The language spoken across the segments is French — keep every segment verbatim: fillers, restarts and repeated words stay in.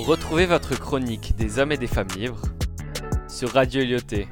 Retrouvez votre chronique des hommes et des femmes libres sur Radio Lyoté.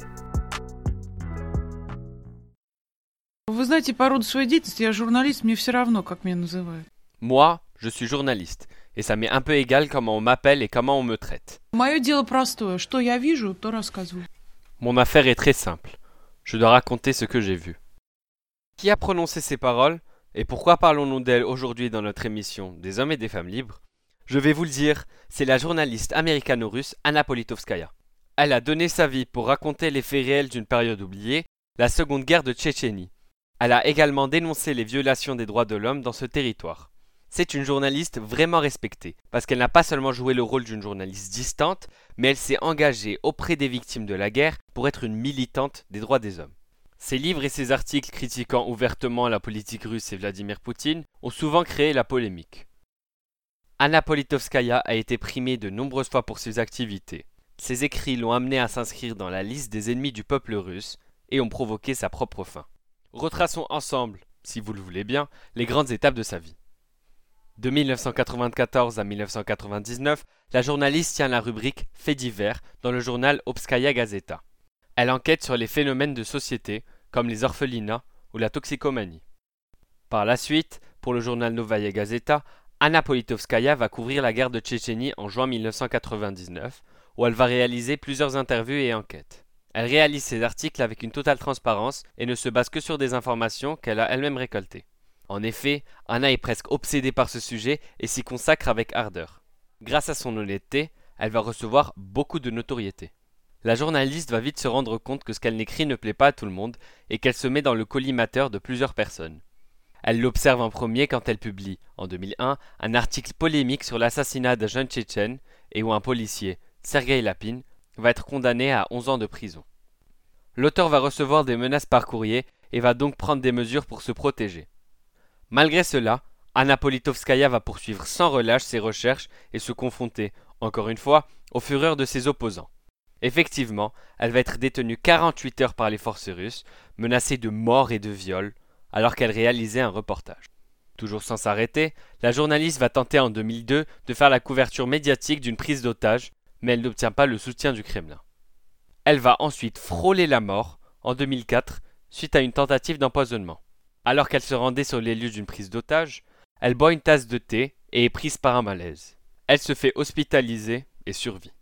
Вы знаете, по роду своей деятельности я журналист, мне все равно, как меня называют. Moi, je suis journaliste, et ça m'est un peu égal comment on m'appelle et comment on me traite. Мое дело простое. Что я вижу, то рассказываю. Mon affaire est très simple. Je dois raconter ce que j'ai vu. Qui a prononcé ces paroles, et pourquoi parlons-nous d'elle aujourd'hui dans notre émission des hommes et des femmes libres? Je vais vous le dire, c'est la journaliste américano-russe Anna Politkovskaya. Elle a donné sa vie pour raconter les faits réels d'une période oubliée, la seconde guerre de Tchétchénie. Elle a également dénoncé les violations des droits de l'homme dans ce territoire. C'est une journaliste vraiment respectée, parce qu'elle n'a pas seulement joué le rôle d'une journaliste distante, mais elle s'est engagée auprès des victimes de la guerre pour être une militante des droits des hommes. Ses livres et ses articles critiquant ouvertement la politique russe et Vladimir Poutine ont souvent créé la polémique. Anna Politkovskaya a été primée de nombreuses fois pour ses activités. Ses écrits l'ont amenée à s'inscrire dans la liste des ennemis du peuple russe et ont provoqué sa propre fin. Retraçons ensemble, si vous le voulez bien, les grandes étapes de sa vie. De mille neuf cent quatre-vingt-quatorze à mille neuf cent quatre-vingt-dix-neuf, la journaliste tient la rubrique Faits divers dans le journal Obskaya Gazeta. Elle enquête sur les phénomènes de société, comme les orphelinats ou la toxicomanie. Par la suite, pour le journal Novaya Gazeta, Anna Politkovskaya va couvrir la guerre de Tchétchénie en juin mille neuf cent quatre-vingt-dix-neuf, où elle va réaliser plusieurs interviews et enquêtes. Elle réalise ses articles avec une totale transparence et ne se base que sur des informations qu'elle a elle-même récoltées. En effet, Anna est presque obsédée par ce sujet et s'y consacre avec ardeur. Grâce à son honnêteté, elle va recevoir beaucoup de notoriété. La journaliste va vite se rendre compte que ce qu'elle n'écrit ne plaît pas à tout le monde et qu'elle se met dans le collimateur de plusieurs personnes. Elle l'observe en premier quand elle publie, en deux mille un, un article polémique sur l'assassinat d'un jeune Tchétchène et où un policier, Sergueï Lapin, va être condamné à onze ans de prison. L'auteur va recevoir des menaces par courrier et va donc prendre des mesures pour se protéger. Malgré cela, Anna Politkovskaya va poursuivre sans relâche ses recherches et se confronter, encore une fois, aux fureurs de ses opposants. Effectivement, elle va être détenue quarante-huit heures par les forces russes, menacée de mort et de viol, alors qu'elle réalisait un reportage. Toujours sans s'arrêter, la journaliste va tenter en deux mille deux de faire la couverture médiatique d'une prise d'otage, mais elle n'obtient pas le soutien du Kremlin. Elle va ensuite frôler la mort, en deux mille quatre, suite à une tentative d'empoisonnement. Alors qu'elle se rendait sur les lieux d'une prise d'otage, elle boit une tasse de thé et est prise par un malaise. Elle se fait hospitaliser et survit.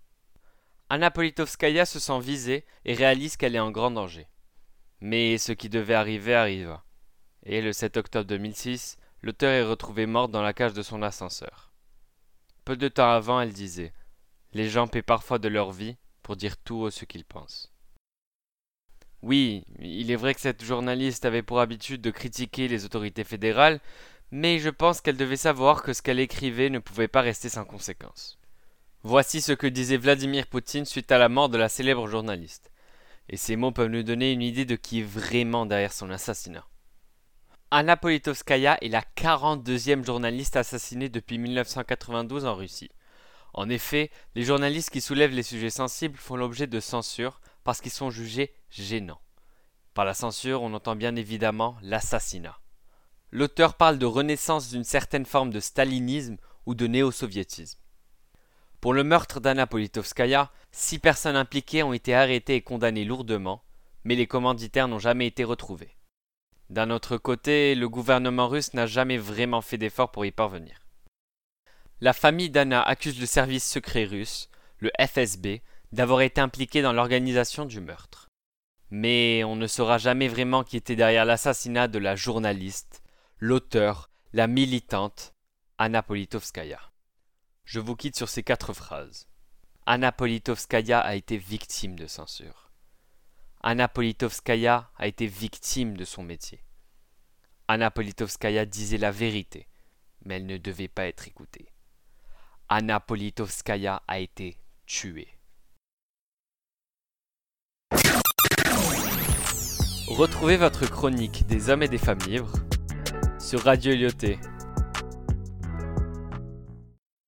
Anna Politkovskaya se sent visée et réalise qu'elle est en grand danger. Mais ce qui devait arriver arriva. Et le sept octobre deux mille six, l'auteur est retrouvé morte dans la cage de son ascenseur. Peu de temps avant, elle disait « Les gens paient parfois de leur vie pour dire tout haut ce qu'ils pensent. » Oui, il est vrai que cette journaliste avait pour habitude de critiquer les autorités fédérales, mais je pense qu'elle devait savoir que ce qu'elle écrivait ne pouvait pas rester sans conséquence. Voici ce que disait Vladimir Poutine suite à la mort de la célèbre journaliste. Et ces mots peuvent nous donner une idée de qui est vraiment derrière son assassinat. Anna Politkovskaya est la quarante-deuxième journaliste assassinée depuis mille neuf cent quatre-vingt-douze en Russie. En effet, les journalistes qui soulèvent les sujets sensibles font l'objet de censure parce qu'ils sont jugés gênants. Par la censure, on entend bien évidemment l'assassinat. L'auteur parle de renaissance d'une certaine forme de stalinisme ou de néo-soviétisme. Pour le meurtre d'Anna Politkovskaya, six personnes impliquées ont été arrêtées et condamnées lourdement, mais les commanditaires n'ont jamais été retrouvés. D'un autre côté, le gouvernement russe n'a jamais vraiment fait d'efforts pour y parvenir. La famille d'Anna accuse le service secret russe, le F S B, d'avoir été impliqué dans l'organisation du meurtre. Mais on ne saura jamais vraiment qui était derrière l'assassinat de la journaliste, l'auteur, la militante, Anna Politkovskaya. Je vous quitte sur ces quatre phrases. Anna Politkovskaya a été victime de censure. Anna Politkovskaya a été victime de son métier. Anna Politkovskaya disait la vérité, mais elle ne devait pas être écoutée. Anna Politkovskaya a été tuée. Retrouvez votre chronique des hommes et des femmes libres sur Radio Lyoté.